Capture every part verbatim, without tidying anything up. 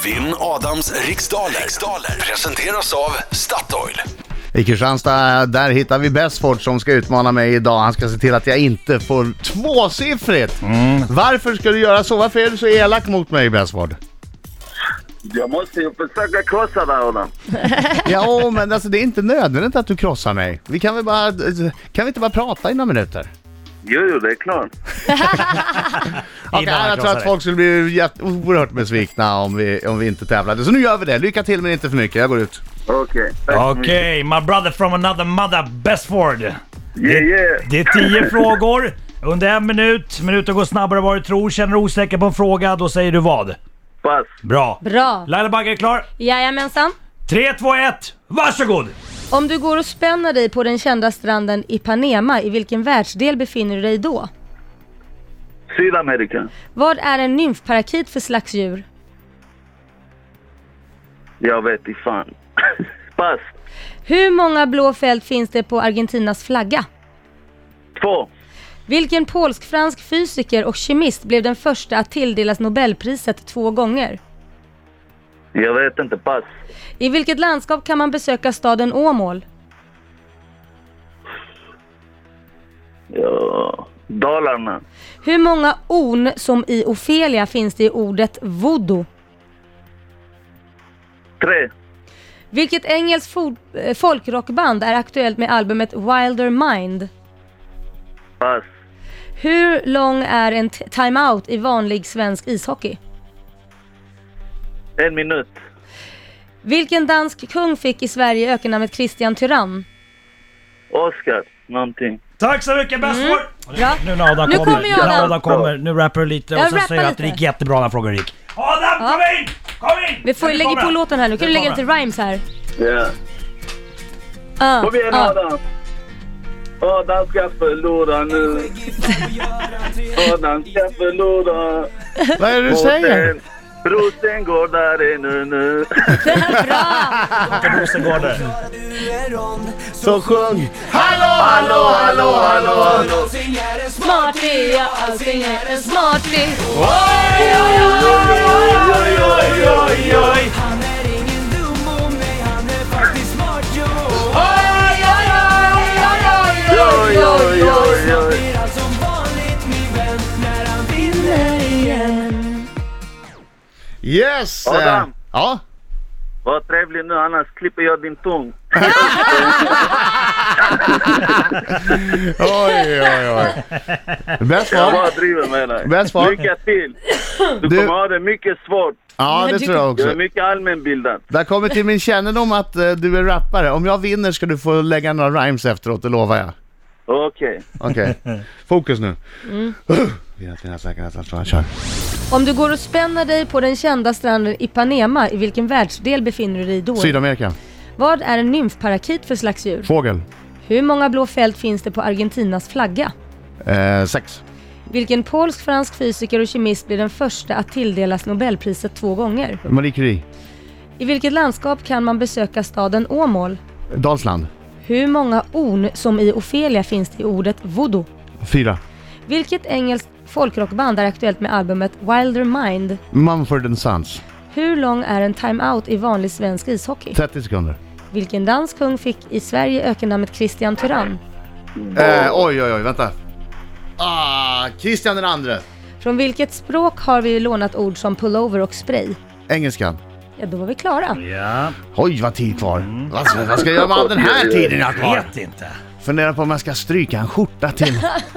Vinn Adams riksdaler. riksdaler presenteras av Statoil. I Kristianstad, där hittar vi Besford som ska utmana mig idag. Han ska se till att jag inte får tvåsiffrigt. Mm. Varför ska du göra så? Varför är du så elak mot mig, Besford? Jag måste ju försöka krossa dig, Adam. Ja, men alltså, det är inte nödvändigt att du krossar mig. Vi kan väl bara, kan vi inte bara prata i några minuter? Jo, jo, det är klart. Okay, jag tror att folk skulle bli jätte- oerhört besvikna om vi, om vi inte tävlade. Så nu gör vi det. Lycka till, men inte för mycket. Jag går ut. Okej. Okay, Okej, okay, my brother from another mother, Besford. Yeah, det, yeah. det är tio frågor under en minut. Minuten går snabbare än vad du tror. Känner du osäker på en fråga, då säger du vad? Pass. Bra. Bra. Laila Bagge är klar. Jajamensan. tre, två, ett, varsågod! Om du går och spänner dig på den kända stranden Ipanema, i vilken världsdel befinner du dig då? Sydamerika. Vad är en nymfparakit för slags djur? Jag vet inte fan. Pass. Hur många blå fält finns det på Argentinas flagga? Två. Vilken polsk-fransk fysiker och kemist blev den första att tilldelas Nobelpriset två gånger? Jag vet inte, pass. I vilket landskap kan man besöka staden Åmål? Ja, Dalarna. Hur många on som i Ofelia finns det i ordet voodoo? Tre. Vilket engelskt fo- äh, folkrockband är aktuellt med albumet Wilder Mind? Pass. Hur lång är en t- timeout i vanlig svensk ishockey? En minut. Vilken dansk kung fick i Sverige ökennamnet Christian Tyrann? Oscar, någonting. Tack så mycket, Besford! Mm. Bra. Nu när Adam Nu kommer, kommer jag, när Adam. Adam kommer, nu rappar du lite och Jag sen rappar säger du att det lite. gick jättebra när frågan gick. Adam, Ja. kom in! Kom in! Vi får Nu lägga kommer på han. låten här nu. Kan Nu du lägga kommer lite rhymes här? Ja. Ah, Kom igen, ah. Adam. Adam ska förlora nu. Adam ska förlora. Vad är det du säger? Brosen går där nu nu. Bra! Rosengården. Så sjung! Hallå, hallå, hallå, hallå. Smarty, ja, allting är en smarty. Oj, oj, oj, oj, oj, oj, oj. Han är ingen dum om mig, han är faktiskt smart, jo. Oj, oj, oj, oj, Oj, oj, oj, oj. Blir allt som vanligt, min vän, när han vinner igen. Yes! Adam. Eh, Ja? Var trevlig nu, annars klipper jag din tung. Oj, oj, oj. Jag Besford? bara driver med dig. Besford? Lycka till. Du, Du- kommer ha det mycket svårt. Ja, det tror jag Du är också. mycket allmänbildad. Det har kommit till min kännedom att eh, du är rappare. Om jag vinner ska du få lägga några rhymes efteråt, det lovar jag. Okej. Okej, fokus nu. Mm. Vi har till säkerhet, jag kör. Om du går och spänner dig på den kända stranden Ipanema, i vilken världsdel befinner du dig då? Sydamerika. Vad är en nymfparakit för slags djur? Fågel. Hur många blå fält finns det på Argentinas flagga? Eh, sex. Vilken polsk-fransk fysiker och kemist blir den första att tilldelas Nobelpriset två gånger? Marie Curie. I vilket landskap kan man besöka staden Åmål? Dalsland. Hur många on som i Ofelia finns det i ordet voodoo? Fyra. Vilket engelskt folkrockband är aktuellt med albumet Wilder Mind? Mumford and Sons. Hur lång är en timeout i vanlig svensk ishockey? trettio sekunder. Vilken dansk kung fick i Sverige ökennamnet Christian Tyrann? Eh, oj, oj, oj, vänta. Ah, Christian den andre. Från vilket språk har vi lånat ord som pullover och spray? Engelskan. Ja, då var vi klara. Ja, Oj, vad tid kvar. Vad, ska, vad ska jag göra med all den här tiden jag har kvar? vet inte. Funderar på om jag ska stryka en skjorta till.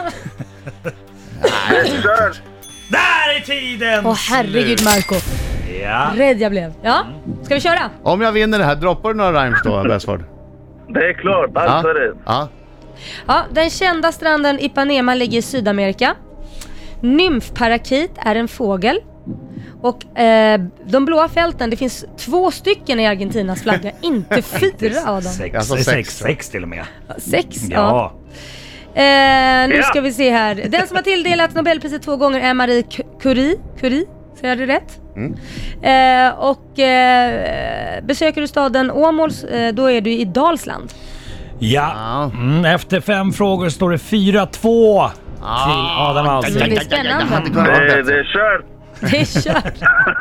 Kör. Där är tiden! Åh herregud, Marco. Ja. Rädd jag blev. Ja, ska vi köra? Om jag vinner det här, droppar du några rhymes då, Besford? Det är klart, allt är rätt. Ja. Ja, den kända stranden Ipanema ligger i Sydamerika. Nymfparakit är en fågel. Och eh, de blåa fälten, det finns två stycken i Argentinas flagga, inte fyra av dem. Sex, Alltså sex, sex. sex till och med. Sex, ja. Ja. Eh, nu Ja. ska vi se här. Den som har tilldelats Nobelpriset två gånger är Marie Cu- Curie. Curie, säger jag det rätt? Mm. Eh, och eh, besöker du staden Åmål, eh, då är du i Dalsland. Ja, Ja. mm, efter fem frågor står det fyra två till Adam Det Alsing. blir spännande. Jag hade kunnat vara Det, bättre. det är kört. Det är kört.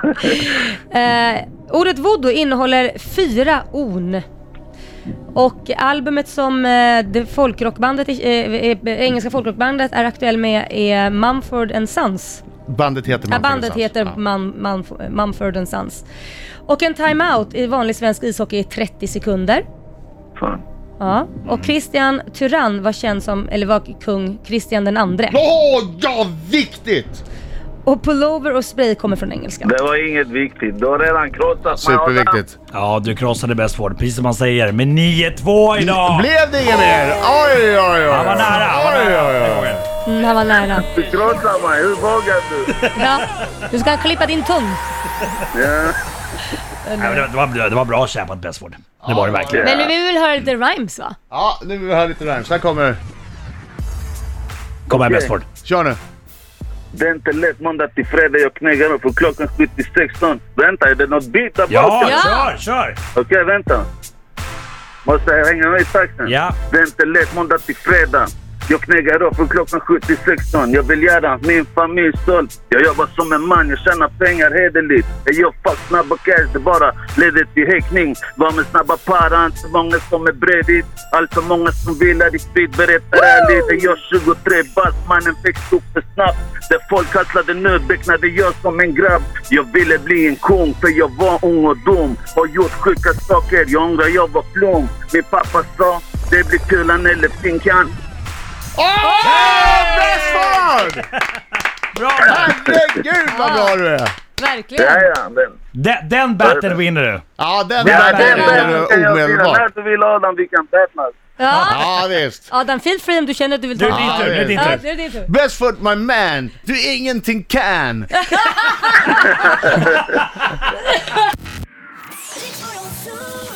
eh, ordet voodoo innehåller fyra on. Och albumet som eh, det folkrockbandet, eh, eh, engelska folkrockbandet är aktuell med är Mumford and Sons. Bandet heter Ja, Mumford bandet Sons. heter Ja. Mum, Mum, Mumford and Sons. Och en timeout i vanlig svensk ishockey är trettio sekunder. Fan. Ja. Och Christian Tyrann var känd som, eller var kung Christian den andre. Åh, ja, viktigt! Och pullover och spray kommer från engelska. Det var inget viktigt. Du har redan krossat mig. Superviktigt. Ja, du krossade Bästford, precis som man säger. Med nio två idag! Blev det inget mer? Oj, oj, oj. Han var nära, han var Oj, nära. oj, oj. Mm, han var nära. Du krossar mig. Hur vågar du? Ja. Du ska klippa din tung. Ja. Nej, men det, var, det var bra kämpat Bästford. Det var det verkligen. Men nu vill vi väl höra lite rhymes, va? Ja, nu vill vi höra lite rhymes. Här kommer... Kom här Okej. Bästford. Kör nu. Det är inte lätt måndag till fredag. Jag knäggar upp för klockan sju till sexton. Vänta, är det något bit där Ja, bakom? Ja. kör, kör! Okej, vänta. Måste jag hänga med i takten? Ja. Det är inte lätt måndag till fredag. Jag knäggar upp från klockan sju till sexton. Jag vill göra min familj stolt. Jag jobbar som en man, jag tjänar pengar hederligt. Jag gör fuck snabba cash, det bara leder till häckning. Var med snabba para, inte många som är bredvid. Allt för många som vill att i speed berättar ärligt. Jag gör tjugotre bast, mannen växte upp för snabbt. Där folk hasslade nu, becknade jag som en grabb. Jag ville bli en kung för jag var ung och dum. Och gjort sjuka saker, jag ångrar jag var flum. Min pappa sa, det blir kulan eller finkan. Åh, Bästford! Bra! Herregud vad bra du är! Verkligen. Ja, ja, men... Den, den battlen vinner du. Ja, den Ja, där det vinner är du kan jag vinna. omedelbart. När du vill Adam, vi kan battlas. Ja. Ja, visst. Adam, feel free om du känner att du vill Nu är ta. det din Ja, tur, nu är det din Ja, tur. det är din tur. Bästford, my man. Du ingenting kan. Riks Morgonzoo.